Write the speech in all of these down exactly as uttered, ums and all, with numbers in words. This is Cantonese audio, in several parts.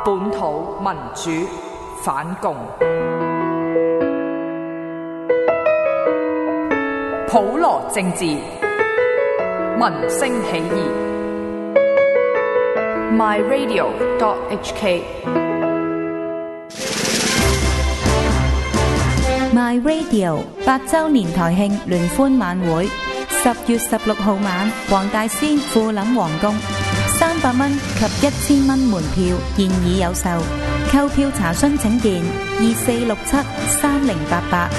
本土民主反共，普羅政治，民聲起義。My Radio dot H K My Radio 八周年台慶聯歡晚會，十月十六號晚，黃大仙富林皇宮，三百蚊及一千蚊門票現已有售，購票查詢請電二四六七三零八八。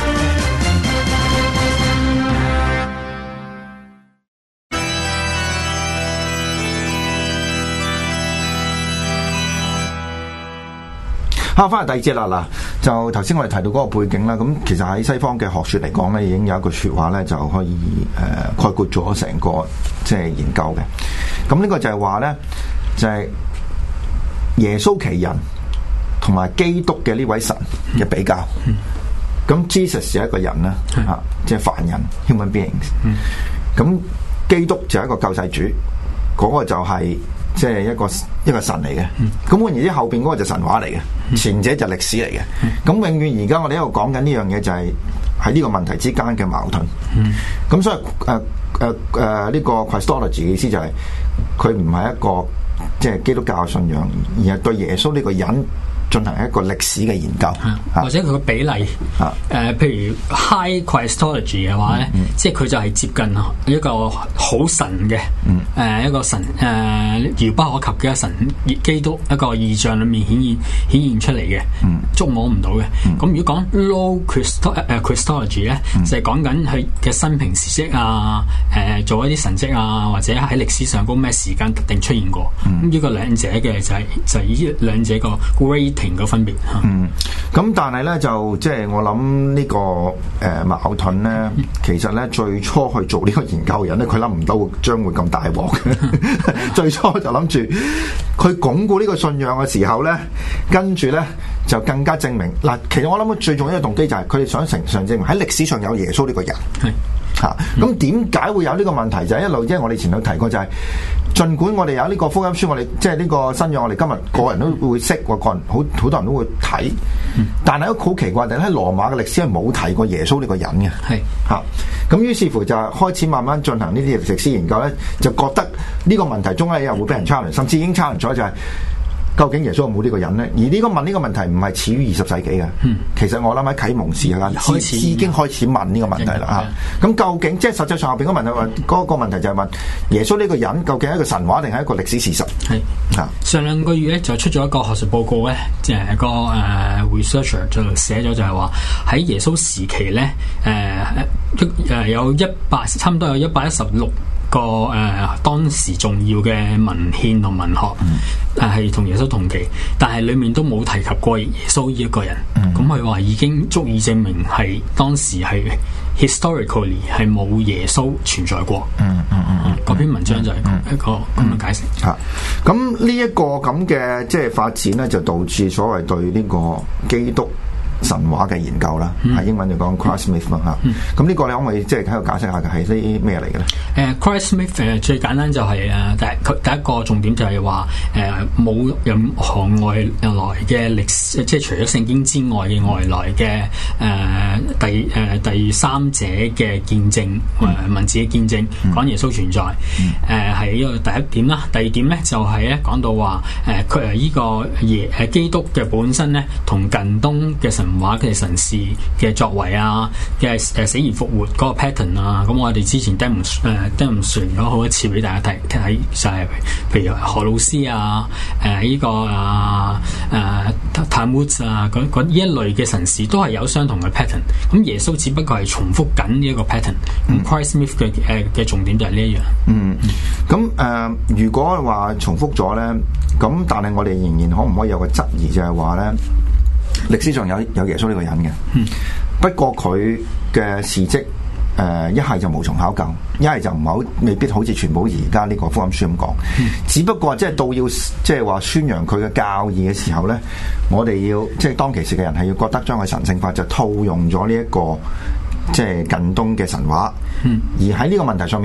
啊，翻嚟第二節啦，嗱，就頭先我哋提到嗰個背景啦，咁其實喺西方嘅學説嚟講咧，已經有一句説話咧，就可以誒、呃、概括咗成個即係研究嘅。咁呢個就係話咧，就係、是、耶穌其人同埋基督嘅呢位神嘅比較。咁、嗯、Jesus 係一個人啦，嚇、嗯，即係凡人 human beings。咁、嗯、基督就係一個救世主，嗰、那個就係、是。即係一個一個神嚟嘅，咁換言之後邊嗰個就神話嚟嘅，前者就歷史嚟嘅。咁永遠而家我哋喺度講緊呢樣嘢就係喺呢個問題之間嘅矛盾。咁所以誒誒誒呢個 Christology 嘅意思就係佢唔係一個即係基督教信仰，而係對耶穌呢個人進行一個歷史嘅研究， 啊、或者佢個比例，誒、啊呃，譬如 High Christology 嘅話咧，嗯嗯、即係佢就係接近一個好神嘅，誒、嗯呃，一個神誒遙不可及嘅神，基督一個異象裏面顯現顯現出嚟嘅，嗯、觸摸唔到嘅。咁、嗯、如果講 Low Christo 誒、uh, Christology 咧，嗯、就係講緊佢嘅生平事蹟啊，誒、呃，做一啲神蹟啊，或者喺歷史上嗰咩時間特定出現過。咁呢、嗯、個兩者嘅就係、是、就係呢兩者個 rate。停個分別， 嗯，咁但係咧就即係我諗呢個誒矛盾咧，嗯、其實咧最初去做呢個研究嘅人咧，佢諗唔到將會咁大鑊嘅，最初就諗住佢鞏固呢個信仰嘅時候咧，跟住咧就更加證明嗱，其實我諗最重要嘅動機就係佢哋想成上證明喺歷史上有耶穌呢個人，係吓，咁點解會有呢個問題？就係、是、一路即係我哋前度提過就係、是。儘管我哋有呢個福音書，我哋即係呢個新約，我哋今日個人都會識，個人好好多人都會睇。但係都好奇怪，就喺羅馬嘅歷史係冇提過耶穌呢個人嘅。係嚇是，咁、啊、於是乎就開始慢慢進行呢啲歷史研究咧，就覺得呢個問題中咧又會俾人 challenge，甚至已經 challenge 咗就係、是。究竟耶穌有冇呢個人咧？而呢個問呢個問題唔係始於二十世紀嘅，嗯、其實我諗喺啟蒙時間開始已經開始問呢個問題啦嚇。咁究竟即係實際上後邊嗰個問題話，嗰、嗯、個問題就係問耶穌呢個人究竟係一個神話定係一個歷史事實？係嚇。上兩個月咧就出咗一個學術報告咧，即係個誒 researcher 就寫咗就係話喺耶穌時期咧誒誒有一百差唔多有一百一十六個誒、呃、當時重要嘅文獻同文學，誒係同耶穌同期，但係裡面都冇提及過耶穌呢一個人。咁佢話已經足以證明係當時係 historically 係冇耶穌存在過。嗯嗯嗯，嗰篇文章就係一個咁嘅解釋。 嚇、嗯，咁呢一個咁嘅即係發展咧，就導致所謂對呢個基督神話嘅研究啦，喺、嗯、英文就講 Christ myth 啦嚇。咁呢、嗯、個你可唔可以即係喺度解釋下嘅係啲咩嚟嘅咧？ 誒 Christ myth 誒最簡單就係、是、誒第佢第一個重點就係話誒冇任何外來嘅歷史，即係除咗聖經之外嘅外來嘅誒、呃、第誒、呃、第三者嘅見證誒、呃、文字嘅見證講耶穌存在。誒係呢個第一點啦。第二點咧就係咧講到話誒佢誒呢個耶誒基督嘅本身咧同近東嘅神話嘅神事嘅作為啊，嘅誒死而復活嗰個 pattern 啊，咁我哋之前 demonstrate 誒 demonstrate 咗好多次俾大家睇睇，就係譬如何老師啊，誒、呃、呢、這個啊誒 Talmud 啊，嗰嗰呢一類嘅神事都係有相同嘅 pattern。咁耶穌只不過係重複緊呢一個 pattern。咁 Christ myth 嘅誒嘅重點就係呢一樣。嗯， 咁誒、呃、如果話重複咗咧，咁但係我哋仍然可唔可以有個質疑，就係話咧？歷史上有有耶穌呢個人嘅，嗯、不過佢嘅事蹟誒一係就無從考究，一係就唔好未必好似全部而家呢個福音書咁講。嗯、只不過即係到要即係話宣揚佢嘅教義嘅時候咧，我哋要即係當其時嘅人係要覺得將佢神聖化，就套用咗呢一個即係近東嘅神話。嗯、而喺呢個問題上面，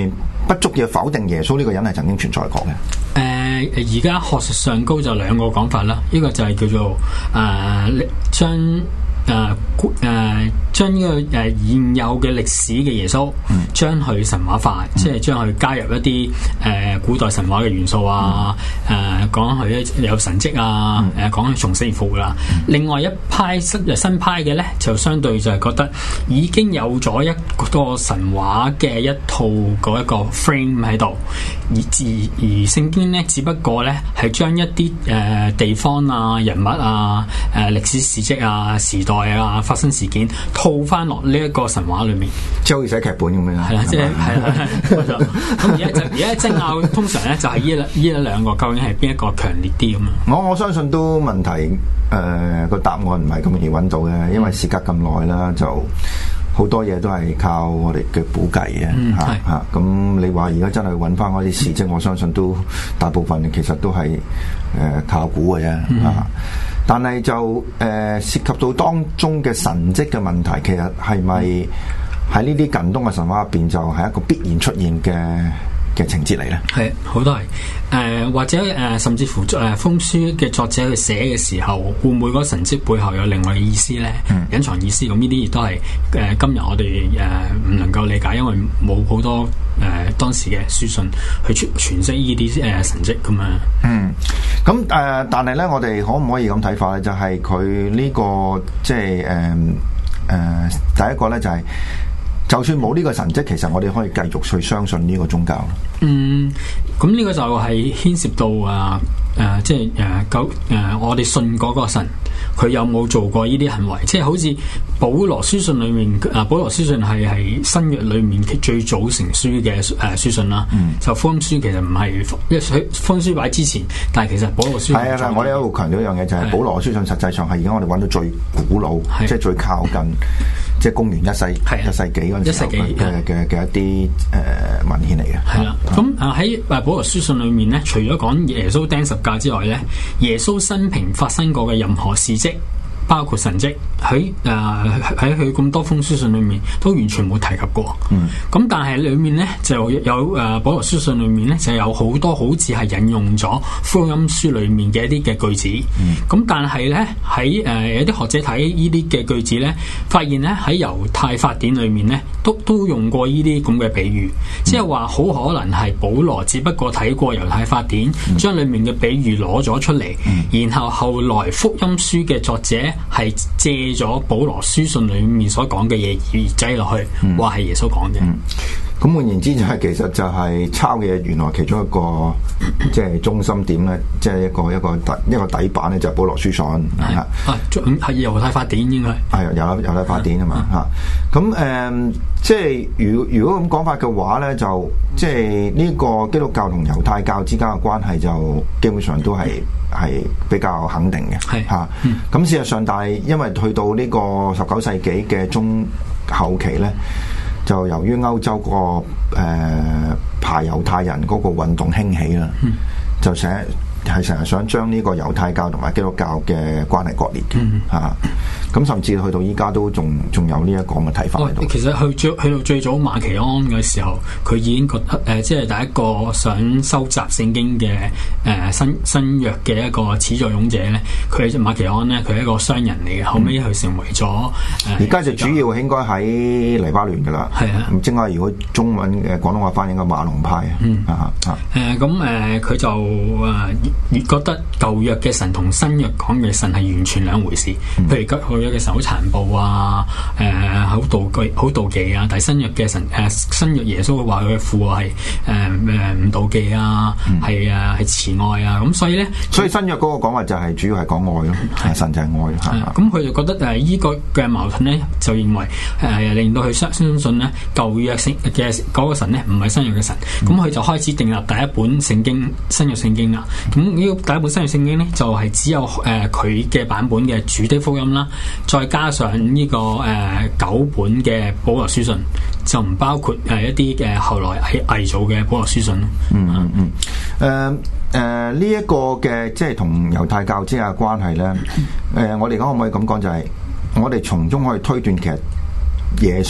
不足以否定耶穌呢個人係曾經存在過嘅。 誒而家學術上高就兩個講法啦，呢、這個就係叫做誒將誒誒將呢個誒現有嘅歷史嘅耶穌，將佢神話化，嗯、即係將佢加入一啲誒、呃、古代神話嘅元素啊，誒、呃、講佢有神蹟啊，誒講佢從死而復活啦。嗯、另外一派新新派嘅咧，就相對就係覺得已經有咗一個神話嘅一套嗰一個 frame 喺度，而而而聖經咧，只不過咧係將一啲誒、呃、地方啊、人物啊、誒、呃、歷史事蹟啊、時代啊、發生事件套翻落呢一個神話裏面， 即係好似寫劇本咁樣。 係啦，即係係啦，咁而家就而家爭拗，通常咧就係呢一呢一兩個究竟係邊一個強烈啲咁啊？ 我我相信都問題誒個、呃、答案唔係咁容易揾到嘅，因為時隔咁耐啦，就好多嘢都係靠我哋嘅估計嘅嚇嚇。咁、嗯啊、你話而家真係揾翻嗰啲事蹟，我相信都大部分其實都係誒、呃、靠估嘅啫嚇。嗯啊但係就誒、呃、涉及到當中嘅神蹟嘅問題，其實係咪喺呢啲近東嘅神話入邊就係一個必然出現嘅嘅情節嚟咧？ 係好多係誒、呃、或者誒、呃、甚至乎誒、呃、封書嘅作者去寫嘅時候，會唔會嗰個神蹟背後有另外嘅意思咧？嗯、隱藏意思，咁呢啲亦都係誒、呃、今日我哋誒唔能夠理解，因為冇好多誒、呃、當時嘅書信去傳傳釋呢啲誒神蹟咁啊。 嗯，咁誒、呃，但係咧，我哋可唔可以咁睇法咧？就係佢呢個即係誒誒，第一個咧就係、是。就算冇呢個神蹟，其實我哋可以繼續去相信呢個宗教。 嗯，咁呢個就係牽涉到啊誒、呃，即係誒九誒，我哋信嗰個神，佢有冇做過呢啲行為？即係好似保羅書信裏面，啊保羅書信係係新約裏面最早成書嘅誒書信啦。嗯、就福音書其實唔係，因為福音書擺之前，但係其實保羅書信係啊，我哋一路強調一樣嘢，就係、是、保羅書信實際上係而家我哋揾到最古老，即係最靠近。即係公元一世一世紀嗰陣時候嘅嘅嘅一啲誒、呃、文獻嚟嘅。係啦， 咁啊喺誒保羅書信裏面咧，除咗講耶穌釘十架之外咧，耶穌生平發生過嘅任何事蹟，包括神蹟，喺誒喺佢咁多封書信裏面都完全冇提及過。嗯，咁但係裏面咧就有誒、呃、保羅書信裏面咧就有好多好似係引用咗福音書裏面嘅一啲嘅句子。嗯，咁但係咧喺誒有啲學者睇呢啲嘅句子咧，發現咧喺猶太法典裏面咧都都用過呢啲咁嘅比喻，嗯、即係話好可能係保羅只不過睇過猶太法典，嗯、將裏面嘅比喻攞咗出嚟，嗯、然後後來福音書嘅作者係借咗保羅書信裏面所講嘅嘢而擠落去，話係、嗯、耶穌講嘅。 咁換、嗯、言之就係其實就係抄嘅嘢，原來其中一個即係中心點咧，即係一個一個底一個底板咧，就係保羅書信係啊， 係猶太法典應該係有猶太法典啊嘛嚇。咁誒、嗯，即係如如果咁講法嘅話咧，就即係呢個基督教同猶太教之間嘅關係就基本上都係。係比較肯定嘅，係嚇。咁、嗯、事實上，但係因為去到呢個十九世紀嘅中後期咧，就由於歐洲、嗰個誒排猶太人嗰個運動興起啦，嗯、就成日係成日想將呢個猶太教同埋基督教嘅關係割裂嘅嚇。咁、嗯啊、甚至去到依家都仲仲有呢一個嘅睇法喺度。 其實去最去到最早馬其安嘅時候，佢已經覺得誒、呃，即係第一個想收集聖經嘅誒、呃、新新約嘅一個始作俑者咧。佢馬其安咧，佢係一個商人嚟嘅，後尾佢成為咗誒。 而家、呃、就主要應該喺黎巴嫩噶啦。係啊，咁正話如果中文嘅廣東話翻譯應該馬龍派啊。嗯啊啊。誒咁誒，佢、呃、就誒。越覺得舊約嘅神同新約講嘅神係完全兩回事，嗯、譬如舊約嘅神好殘暴啊，誒、呃、好妒忌好妒忌啊，但係新約嘅神誒、呃、新約耶穌話佢嘅父係誒誒唔妒忌啊，係啊係慈愛啊，咁所以咧，所以新約嗰個講話就係主要係講愛咯，係神就係愛嚇。 咁佢就覺得誒依、呃這個嘅矛盾咧，就認為誒、呃、令到佢相相信咧舊約聖嘅嗰個神咧唔係新約嘅神，咁佢、嗯、就開始訂立第一本聖經新約聖經啦，咁。呢個第一本新約聖經咧，就係、是、只有誒佢嘅版本嘅主的福音啦，再加上呢、這個誒、呃、九本嘅保羅書信，就唔包括誒、呃、一啲嘅後來係偽造嘅保羅書信。 嗯嗯嗯。誒誒呢一個嘅即係同猶太教之間嘅關係咧，誒、呃、我哋講可唔可以咁講，就係我哋從中可以推斷，其實耶穌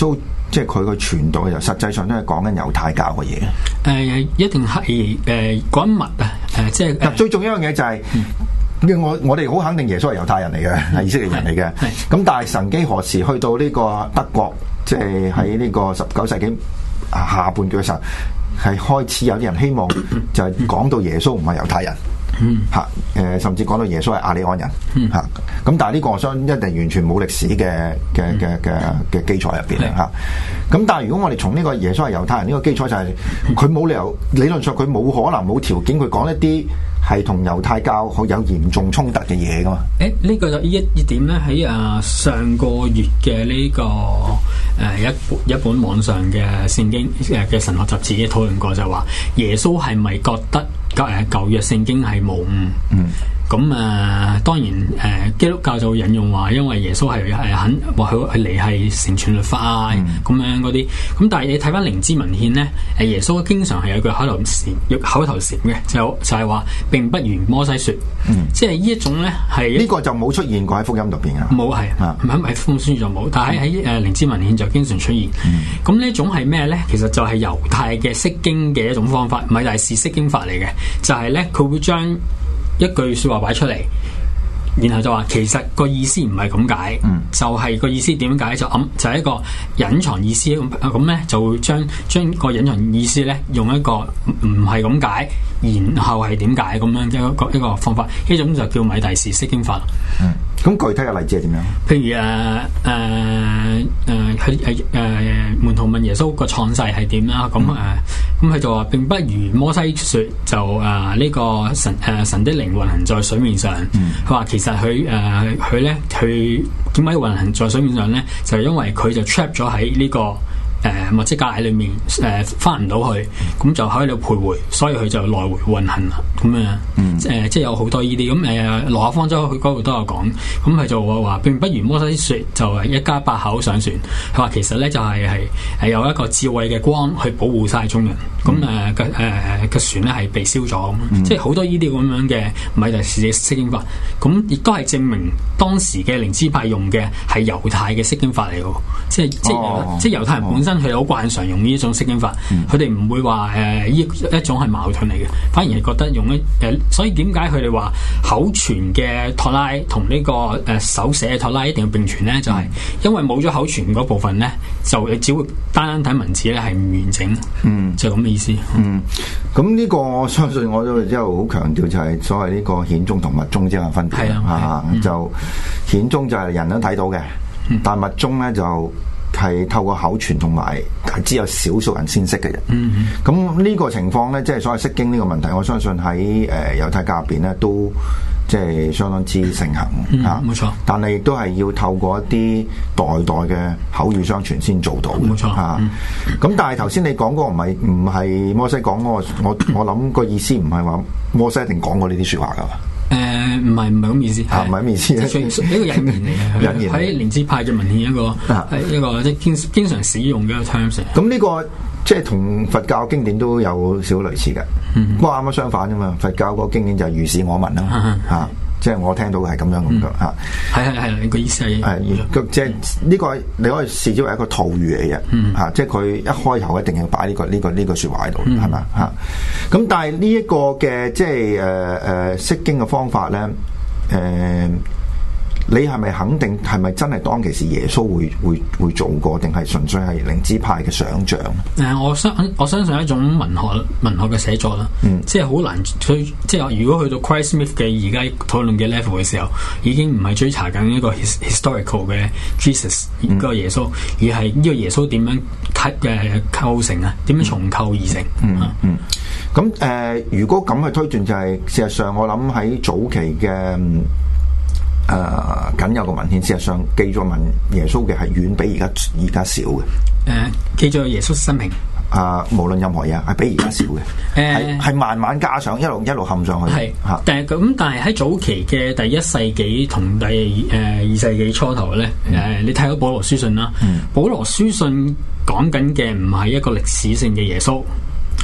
即係佢個傳道嘅時候，實際上都係講緊猶太教嘅嘢。誒、 呃，一定係誒嗰一物啊！誒、呃，即係、呃、 最重要一樣嘢就係、是。嗯我我哋好肯定耶穌係猶太人嚟嘅，係以色列人嚟嘅。咁但係曾幾何時去到呢個德國，即係喺呢個十九世紀下半段嘅時候，係開始有啲人希望就係講到耶穌唔係猶太人，嚇誒，甚至講到耶穌係亞利安人嚇。咁但係呢個我相信一定完全冇歷史嘅嘅嘅嘅嘅基礎入邊啦嚇。咁但係如果我哋從呢個耶穌係猶太人呢個基礎就係佢冇理由理論上佢冇可能冇條件佢講一啲係同猶太教好有嚴重衝突嘅嘢噶嘛？誒、 欸，呢、這個就呢一一點咧，喺啊上個月嘅呢、這個誒、呃、一本一本網上嘅聖經誒嘅神學雜誌討論過，就話耶穌係咪覺得誒舊約聖經係無誤？嗯。咁啊、呃，當然誒、呃，基督教就會引用話，因為耶穌係係肯話佢佢嚟係成全律法啊，咁、嗯、樣嗰啲。咁但係你睇翻靈知文獻咧，誒耶穌經常係有句口頭禪，口頭禪嘅，就就係話並不如摩西説，嗯、即係呢一種咧係呢個就冇出現過喺福音入邊啊， 冇係，喺喺福音書就冇，但係喺誒靈知文獻就經常出現。咁、嗯、呢一種係咩咧？其實就係猶太嘅釋經嘅一種方法，米大士釋經法嚟嘅，就係咧佢會將一句說話擺出嚟，然後就話其實個意思唔係咁解，嗯、就係個意思點解就暗就係、是、一個隱藏意思咁咁咧，就會將將個隱藏意思咧用一個唔係咁解，然後係點解咁樣一個一個方法，呢種就叫米大士釋經法。 嗯，咁具體嘅例子係點樣？ 譬如誒誒誒，佢誒誒門徒問耶穌個創世係點啦？咁誒咁佢就話並不如摩西説就誒呢、呃這個神誒、呃、神的靈運行在水面上。佢話、嗯、其實佢誒佢咧佢點解要運行在水面上咧？就係、是、因為佢就 trap 咗喺呢個誒墨西哥喺裏面誒翻唔到去，咁就喺度徘徊，所以佢就來回運行啦。咁樣誒、嗯呃、即係有好多呢啲咁誒羅亞方舟佢嗰度都有講，咁佢就話話並不如摩西説就係一家八口上船。佢話其實咧就係係係有一個智慧嘅光去保護晒眾人。咁誒嘅誒嘅船咧係被燒咗咁，嗯、即係好多呢啲咁樣嘅米大士釋經法。咁亦都係證明當時嘅靈知派用嘅係猶太嘅釋經法嚟嘅，即係即係、哦、即係猶太人本身佢有慣常用呢一種釋經法，佢哋唔會話誒呢一種係矛盾嚟嘅，反而係覺得用一誒、呃，所以點解佢哋話口傳嘅托拉同呢、這個誒、呃、手寫嘅托拉一定要並存咧？就係、是、因為冇咗口傳嗰部分咧，就只會單單睇文字咧係唔完整，嗯，就咁嘅意思。 嗯，咁呢個我相信我都之後好強調就係所謂呢個顯宗同密宗之間嘅分別啊，啊嗯、就顯宗就係人都睇到嘅，嗯、但密宗咧就係透過口傳同埋只有少數人先識嘅人。咁呢、嗯、個情況咧，即係所謂釋經呢個問題，我相信喺誒猶太教入邊咧都即係相當之盛行嚇。冇錯、嗯，但係亦都係要透過一啲代代嘅口語相傳先做到嘅。冇錯嚇。咁但係頭先你講嗰個唔係唔係摩西講嗰個，我我諗個意思唔係話摩西一定講過呢啲説話㗎嘛。 誒唔係唔係咁意思， 嚇唔係咁意思， 一個引言嚟嘅，引言喺靈知派嘅文獻一個係、啊、一個即係經經常使用嘅一個 terms。 咁呢個即係同佛教經典都有少類似嘅，不過啱啱相反啫嘛。佛教個經典就係如是我聞啦嚇。即係我聽到係咁樣咁嘅嚇，係係係，你個意思係係即係呢個你可以視之為一個套語嚟嘅嚇，即係佢一開頭一定要擺呢個呢個呢個説話喺度，係咪嚇？咁但係呢一個嘅即係誒誒釋經嘅方法咧，誒你係咪肯定係咪真係當其時耶穌會會會做過，定係純粹係靈知派嘅想像？誒，我相我相信係一種文學文學嘅寫作啦，嗯，即係好難去即係如果去到 Christ Smith 嘅而家討論嘅 level 嘅時候，已經唔係追查緊一個 historical 嘅 Jesus 嗰個耶穌，而係呢個耶穌點樣構誒構成啊？點樣重構而成？嗯嗯。咁誒、呃，如果咁去推斷，就係事實上我諗喺早期嘅。誒，僅、呃、有個文獻，事實上記載文耶穌嘅係遠比而家而家少嘅。誒、呃，記載耶穌生平。啊、呃，無論任何嘢係比而家少嘅。誒、呃，係係慢慢加上，一路一路冚上去。係吓是，但係咁，但係喺早期嘅第一世紀同第誒、呃、二世紀初頭咧，誒、嗯呃，你睇到保羅書信啦。嗯。保羅書信講緊嘅唔係一個歷史性嘅耶穌。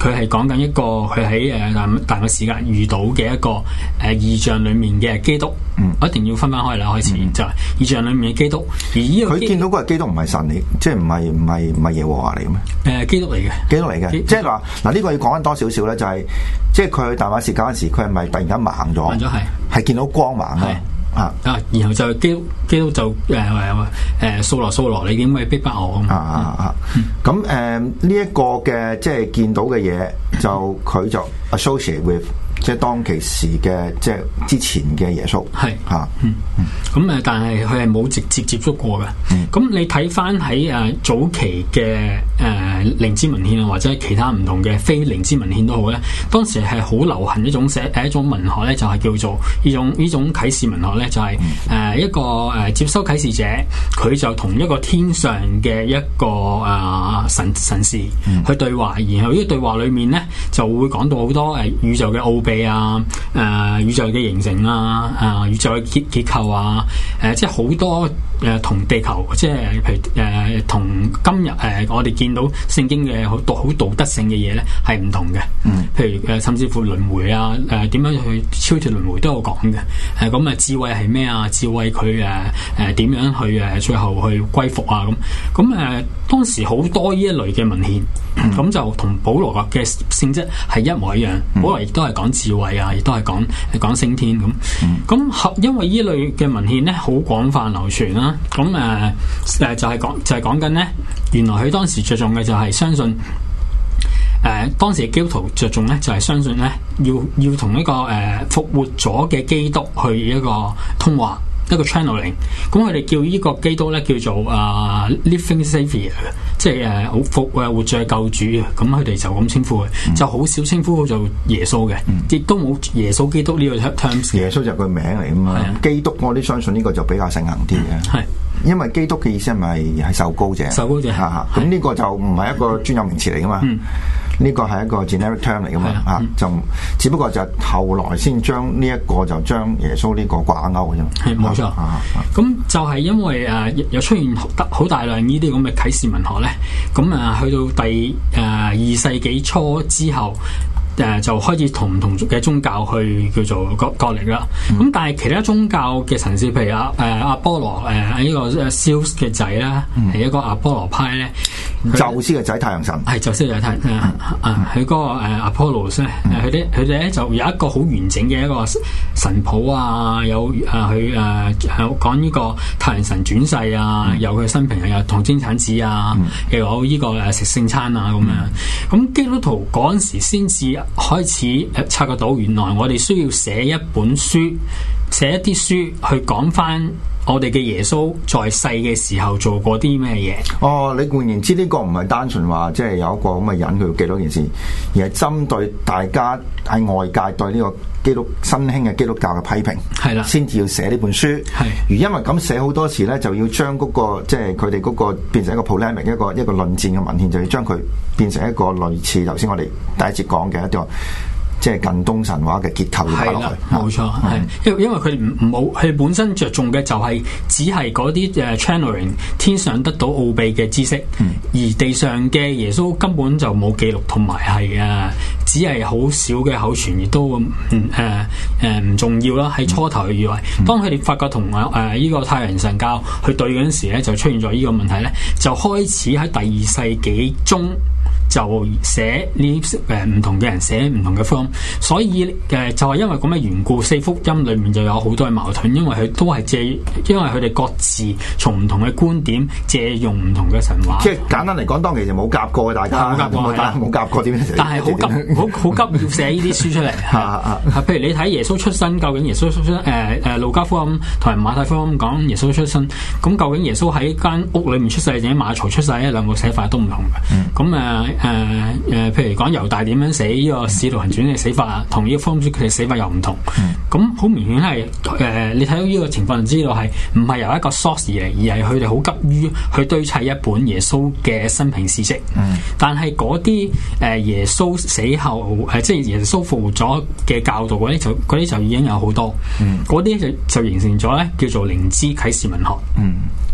佢係講緊一個佢喺誒大大嘅時間遇到嘅一個誒、呃、異象裡面嘅基督。 嗯， 我一定要分翻開啦，開始、嗯、就係異象裡面嘅基督。而呢個佢見到嗰個基督唔係神嚟，即係唔係唔係唔係耶和華嚟嘅咩？ 誒、呃，基督嚟嘅， 基督嚟嘅，即係話嗱呢個要講緊多少少咧，就係、是、即係佢去大馬士革嗰陣時，佢係咪突然間盲咗？盲咗係，係見到光盲啊！啊啊！然後就基督基督就誒誒誒掃羅掃羅，你點解逼迫我啊啊啊！咁誒呢一個嘅即係見到嘅嘢，就佢就 associate with 即係當其時嘅即係之前嘅耶穌係嚇。 嗯嗯。咁誒，但係佢係冇直接接觸過嘅。咁、嗯、你睇翻喺誒早期嘅誒靈知文獻啊，或者其他唔同嘅非靈知文獻都好咧，當時係好流行一種寫誒一種文學咧，就係叫做呢種呢種啟示文學咧，就係、是、誒、呃、一個誒、呃、接收啟示者，佢就同一個天上嘅一個誒、呃、神神士去對話，然後呢個對話裏面咧就會講到好多誒宇宙嘅奧秘啊，誒、呃、宇宙嘅形成啊，誒、呃、宇宙嘅結結構啊。誒、呃，即係好多誒，同、呃、地球，即係譬如誒，同、呃、今日誒、呃，我哋見到聖經嘅好道好道德性嘅嘢咧，係唔同嘅。嗯，譬如誒、呃，甚至乎輪迴啊，誒、呃，點樣去超脫輪迴都有講嘅。誒、呃，咁啊，智慧係咩啊？智慧佢誒誒，點、呃、樣去誒、呃，最後去歸服啊？咁咁誒，當時好多呢一類嘅文獻，咁、嗯、就同保羅嘅性質係一模一樣。嗯、保羅亦都係講智慧啊，亦都係講講升天咁。咁、嗯、因為呢類嘅文獻咧，好廣泛流傳啦。咁誒誒就係講就係講緊咧，原來佢當時着重嘅就係相信誒、呃、當時嘅基督徒着重咧，就係相信咧，要要同一個誒復、呃、活咗嘅基督去一個通話，一個 channeling。咁佢哋叫呢個基督咧叫做啊、呃、living saviour，即係誒好復誒活著救主啊。咁佢哋就咁稱呼佢，嗯、就好少稱呼做耶穌嘅，亦、嗯、都冇耶穌基督呢個 terms。耶穌就個名嚟啊嘛，基督我哋相信呢個就比較盛行啲嘅。係、嗯。因為基督嘅意思係咪係受膏者？受膏者嚇嚇，咁呢個就唔係一個專有名詞嚟噶嘛。呢、嗯、個係一個 generic term 嚟噶嘛嚇，嗯、就只不過就後來先將呢一個就將耶穌呢個掛鈎嘅啫。係冇錯。咁就係因為誒有出現得好大量呢啲咁嘅啟示文學咧，咁啊去到第誒二世紀初之後。誒、呃、就開始同唔同嘅宗教去叫做角角力啦。咁、嗯、但係其他宗教嘅神士，譬如阿誒阿波羅誒呢個 Zeus 嘅仔啦，係、嗯、一個阿波羅派咧。宙斯嘅仔太陽神係宙斯嘅仔太陽啊！佢嗰個誒阿波羅咧，佢哋佢哋咧就有一個好完整嘅一個神譜啊，有誒佢誒講呢個太陽神轉世啊，嗯、有佢生平啊，有童貞產子啊，嗯、又有呢個誒食聖餐啊咁樣。咁、嗯、基督徒嗰陣時先至開始誒察覺到，原來我哋需要寫一本書，寫一啲書去講翻我哋嘅耶穌在世嘅時候做過啲咩嘢？哦，你換言之，呢、這個唔係單純話即係有一個咁嘅人佢要記到件事，而係針對大家喺外界對呢個基督新興嘅基督教嘅批評，係啦，先至要寫呢本書。係而因為咁寫好多時咧，就要將嗰、那個即係佢哋嗰個變成一個 polemic 一個一個論戰嘅文獻，就要將佢變成一個類似頭先我哋第一節講嘅一個。即係近東神話嘅結構要擺落去，冇錯，係因為因為佢唔冇佢本身着重嘅就係只係嗰啲誒 channeling 天上得到奧秘嘅知識，嗯、而地上嘅耶穌根本就冇記錄，同埋係誒只係好少嘅口傳，亦都唔誒誒唔重要啦。喺初頭以為，嗯、當佢哋發覺同誒誒呢個太陽神教去對嗰陣時咧，就出現咗呢個問題咧，就開始喺第二世紀中。就寫呢誒唔同嘅人寫唔同嘅福音，所以誒、呃、就係、是、因為咁嘅緣故，四福音裏面就有好多嘅矛盾，因為佢都係借，因為佢哋各自從唔同嘅觀點借用唔同嘅神話。即係簡單嚟講，當其時冇夾過嘅，大家冇夾過，冇夾過點樣寫？但係好急，好好急要寫呢啲書出嚟。譬如你睇耶穌出生，究竟耶穌出生誒誒路加福音同埋馬太福音講耶穌出生，咁究竟耶穌喺間屋裏面出世定喺馬槽出世咧？兩個寫法都唔同嘅。咁誒、嗯。誒誒、呃，譬如講猶大點樣死呢、這個使徒行傳嘅死法啊，同呢個福音書佢哋死法又唔同。咁好、嗯、明顯係誒、呃，你睇到呢個情況就知道係唔係由一個 source 嚟，而係佢哋好急於去堆砌一本耶穌嘅生平事跡。嗯、但係嗰啲誒耶穌死後誒、呃，即係耶穌復活咗嘅教導嗰啲就嗰啲就已經有好多。嗰啲、嗯、就就形成咗咧叫做靈知啟示文學。嗯、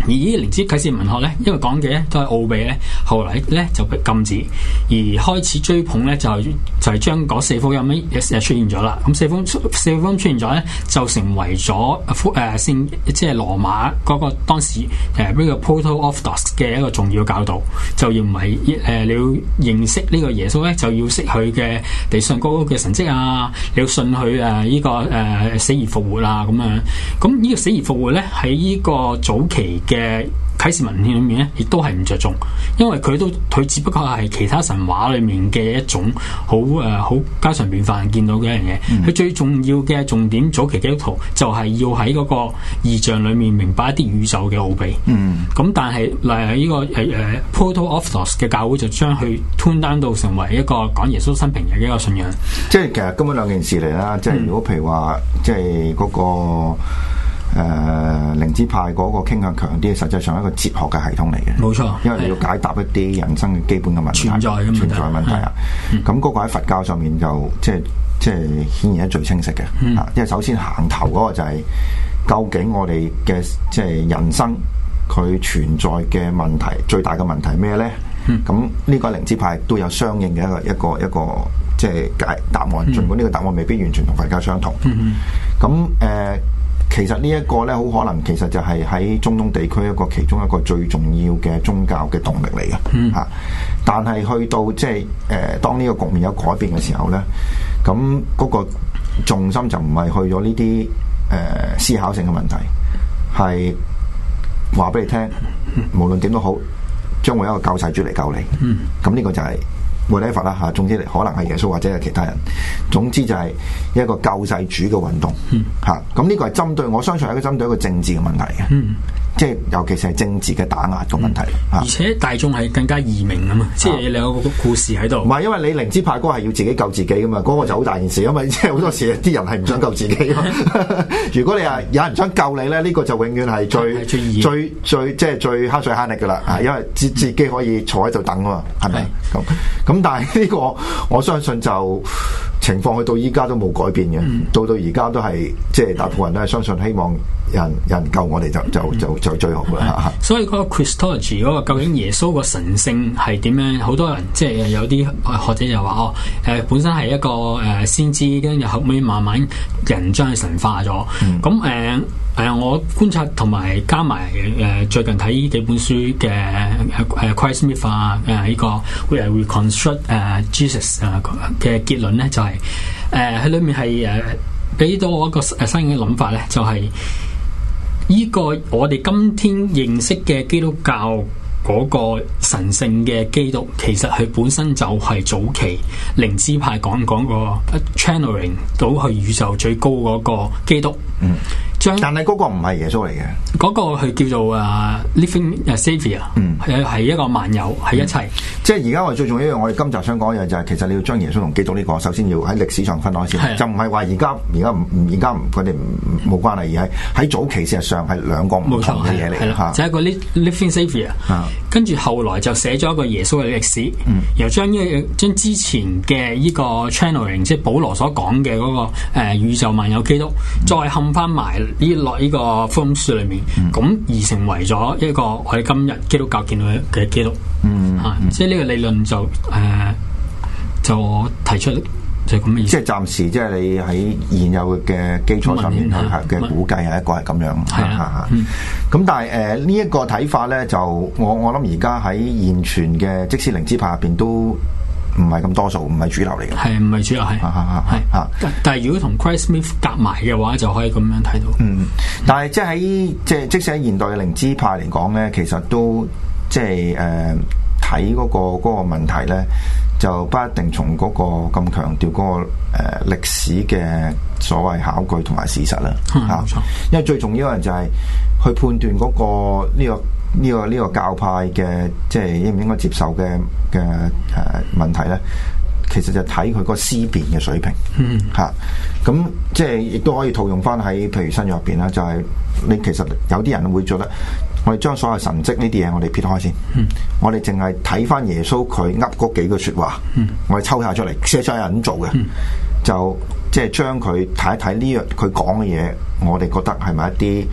而呢啲靈知啟示文學咧，因為講嘅咧都係奧秘咧，後來咧就被禁止，而開始追捧咧就就係將嗰四福音咧誒出現咗啦。咁四福四福音出現咗咧，就成為咗誒聖即係羅馬嗰個當時誒呢個 Proto-Orthodox 嘅一個重要教導，就認為誒、呃、你要認識呢個耶穌咧，就要識佢嘅地上高嘅神蹟啊，你要信佢誒呢個誒、呃、死而復活啊咁樣。咁呢個死而復活咧喺呢個早期嘅啟示文獻裏面咧，亦都係唔着重，因為佢都佢只不過係其他神話裏面嘅一種好誒好家常便飯見到嘅一樣嘢。佢、嗯、最重要嘅重點，早期基督徒就係要喺嗰個異象裏面明白一啲宇宙嘅奧秘。嗯，咁但係例如呢個誒誒、呃、Proto-Orthodox 嘅教會就將佢 tune down 到成為一個講耶穌生平嘅一個信仰。 即係其實根本兩件事嚟啦。即係如果譬如話，即係嗰個。誒靈知派嗰個傾向強啲，實際上係一個哲學嘅系統嚟嘅。冇錯，因為你要解答一啲人生嘅基本嘅問題，存在嘅存在問題啊。咁嗰個喺佛教上面就即係即係顯然係最清晰嘅。嗯、因為首先行頭嗰個就係、是、究竟我哋嘅即係人生佢存在嘅問題，最大嘅問題係咩咧？咁呢、嗯、個靈知派都有相應嘅一個一個一個即係解答案，儘、嗯、管呢個答案未必完全同佛教相同。咁誒、嗯。呃其實呢一個咧，好可能其實就係喺中東地區一個其中一個最重要嘅宗教嘅動力嚟嘅嚇。嗯、但係去到即係誒，當呢個局面有改變嘅時候咧，咁嗰個重心就唔係去咗呢啲誒思考性嘅問題，係話俾你聽，無論點都好，將會有一個救世主嚟救你。咁呢、嗯、個就係、是。冇理法啦嚇，總之可能係耶穌或者係其他人，總之就係一個救世主嘅運動嚇。咁呢、嗯、個係針對，我相信係一個針對一個政治嘅問題嘅，嗯、即係尤其是係政治嘅打壓嘅問題。嗯、而且大眾係更加易明啊嘛，即係你有個故事喺度。唔係因為你靈知派嗰個係要自己救自己噶嘛，嗰、那個就好大件事，因為即係好多時啲人係唔想救自己。如果你係有人想救你咧，呢、這個就永遠係最最最，最即係最慳水慳力噶啦，嗯、因為自自己可以坐喺度等啊嘛，係咪咁咁？但係呢個我相信就情況去到依家都冇改變嘅，嗯、到到而家都係即係大部分人都係相信希望人人救我哋就就就就最好啦。所以嗰個 Christology 嗰個究竟耶穌個神性係點樣？好多人即係有啲學者就話哦，誒、呃、本身係一個誒、呃、先知，跟住後尾慢慢人將佢神化咗。咁誒、嗯。係啊、呃！我觀察同埋加埋誒、呃、最近睇呢幾本書嘅誒誒 Craig Smith 啊誒呢個會 reconstruct 誒、uh, Jesus 啊嘅結論咧，就係誒喺裏面係誒俾到我一個誒新嘅諗法咧，就係、是、呢個我哋今天認識嘅基督教嗰個神聖嘅基督，其實佢本身就係早期靈知派講講個 channeling 到去宇宙最高嗰個基督。嗯。但係嗰個唔係耶穌嚟嘅，嗰個佢叫做啊、uh, living saviour，嗯，係係一個萬有，係一切。嗯、即係而家我哋最重要一樣，我哋今集想講一樣就係，其實你要將耶穌同基督呢個，首先要喺歷史上分開先，的就唔係話而家而家唔而家佢哋冇關係，而係喺早期事實上係兩個唔同嘅嘢嚟嘅，就係一個 living saviour，跟住後來就寫咗一個耶穌嘅歷史，嗯、然後將呢個將之前嘅呢個 channeling， 即係保羅所講嘅嗰個誒、呃、宇宙萬有基督，嗯、再冚翻埋。呢落呢個福音書裏面，咁、嗯、而成為咗一個我哋今日基督教見到嘅基督，嗯，嚇、嗯，即係呢個理論就誒、呃、就提出就係咁嘅意思。即係暫時，即係你喺現有嘅基礎上面去嘅估計係一個係咁樣，係啊，咁但係誒呢一個睇法咧，就我我諗而家喺現存嘅即使靈知派入邊都。唔係咁多數，唔係主流嚟嘅。係唔係主流？係係係。但係如果同 Craig Smith 夾埋嘅話，就可以咁樣睇到。嗯，但係即係喺即係即使喺現代嘅靈知派嚟講咧，其實都即係誒睇嗰個嗰、嗰個問題咧，就不一定從嗰個咁強調嗰、嗰個誒、呃、歷史嘅所謂考據同埋事實啦。嚇、嗯，冇錯。因為最重要嘅就係去判斷嗰、嗰個呢、呢個。呢、這個呢、這個教派嘅即係應唔應該接受嘅嘅誒問題咧，其實就睇佢個思辨嘅水平嚇。咁、嗯啊、即係亦都可以套用翻喺譬如新約入邊啦，就係、是、你其實有啲人會覺得，我哋將所有神蹟呢啲嘢我哋撇開先，嗯、我哋淨係睇翻耶穌佢噏嗰幾句説話，嗯、我哋抽下出嚟，寫咗有人做嘅，嗯、就即係將佢睇一睇呢樣佢講嘅嘢，我哋覺得係咪一啲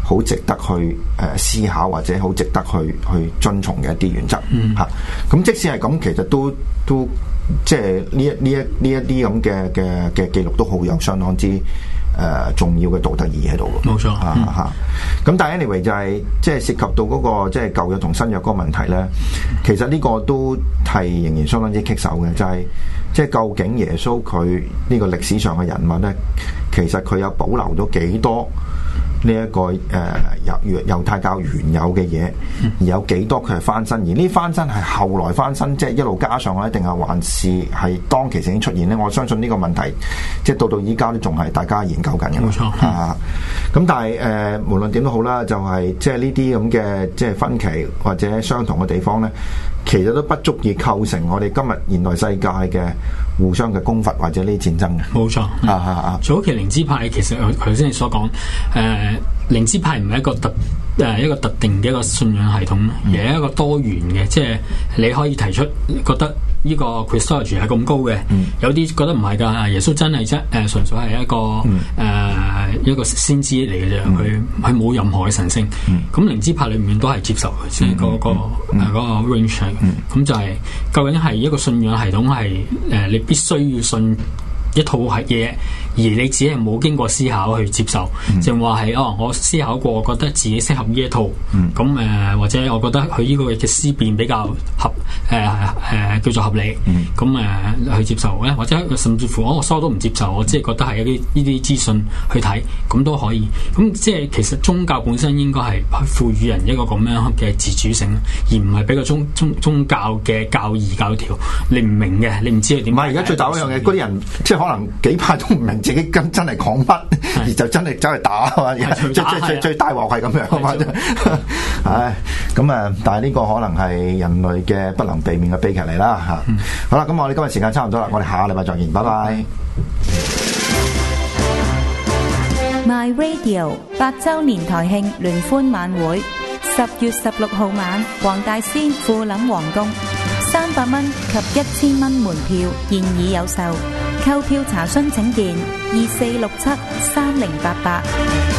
好值得去誒、呃、思考或者好值得去去遵從嘅一啲原則嚇。咁、嗯啊、即使係咁，其實都都即係呢一呢一呢一啲咁嘅嘅嘅記錄都好有相當之誒、呃、重要嘅道德意義喺度嘅。 冇錯嚇嚇。咁但係 anyway 就係即係涉及到嗰、那個即係舊約同新約嗰個問題咧，其實呢個都係仍然相當之棘手嘅，就係、是。即係究竟耶穌佢呢個歷史上嘅人物咧，其實佢有保留咗幾多呢、這、一個誒猶猶太教原有嘅嘢，而有幾多佢係翻身？而呢翻身係後來翻身，即係一路加上去，定係還是係當其時已經出現咧？我相信呢個問題，即係到到依家都仲係大家研究緊嘅。 冇錯啊！咁但係誒、呃，無論點都好啦，就係、是、即係呢啲咁嘅即係分歧或者相同嘅地方咧。其實都不足以構成我哋今日現代世界嘅互相嘅攻伐或者呢啲戰爭嘅。 冇錯，啊啊啊！早期靈知派其實頭先你所講，誒、呃、靈知派唔係一個特誒、呃、一個特定嘅一個信仰系統，而係一個多元嘅，即係你可以提出覺得呢個 Christology 係咁高嘅，嗯、有啲覺得唔係㗎，耶穌真係啫誒，純粹係一個誒、嗯呃、一個先知嚟嘅啫，佢佢冇任何嘅神性。咁靈知派裏面都係接受嘅，即係嗰個誒嗰個 range。咁、嗯、就係、是、究竟係一個信仰系統係誒、呃，你必須要信一套係嘢，而你只係冇經過思考去接受，就話係哦，我思考過，我覺得自己適合呢一套，咁誒、嗯呃、或者我覺得佢呢個嘅思辨比較合誒誒、呃呃、叫做合理，咁誒、嗯呃、去接受咧，或者甚至乎我我疏都唔接受，我只係覺得係一啲呢啲資訊去睇，咁都可以。咁即係其實宗教本身應該係賦予人一個咁樣嘅自主性，而唔係俾個宗宗宗教嘅教義教條你唔明嘅，你唔知佢點。 唔係而家最大一樣嘢，嗰啲人即係可能幾派都唔明自己跟真係講乜，而就真係走去打啊！最最最最大鑊係咁樣啊嘛！唉，咁啊，但係呢個可能係人類嘅不能避免嘅悲劇嚟啦嚇。嗯、好啦，咁我哋今日時間差唔多啦，我哋下個禮拜再見，拜拜。 My Radio 八週年台慶聯歡晚會，十月十六號晚，黃大仙富林皇宮，三百蚊及一千蚊門票現已有售。購票查詢請電二四六七三零八八。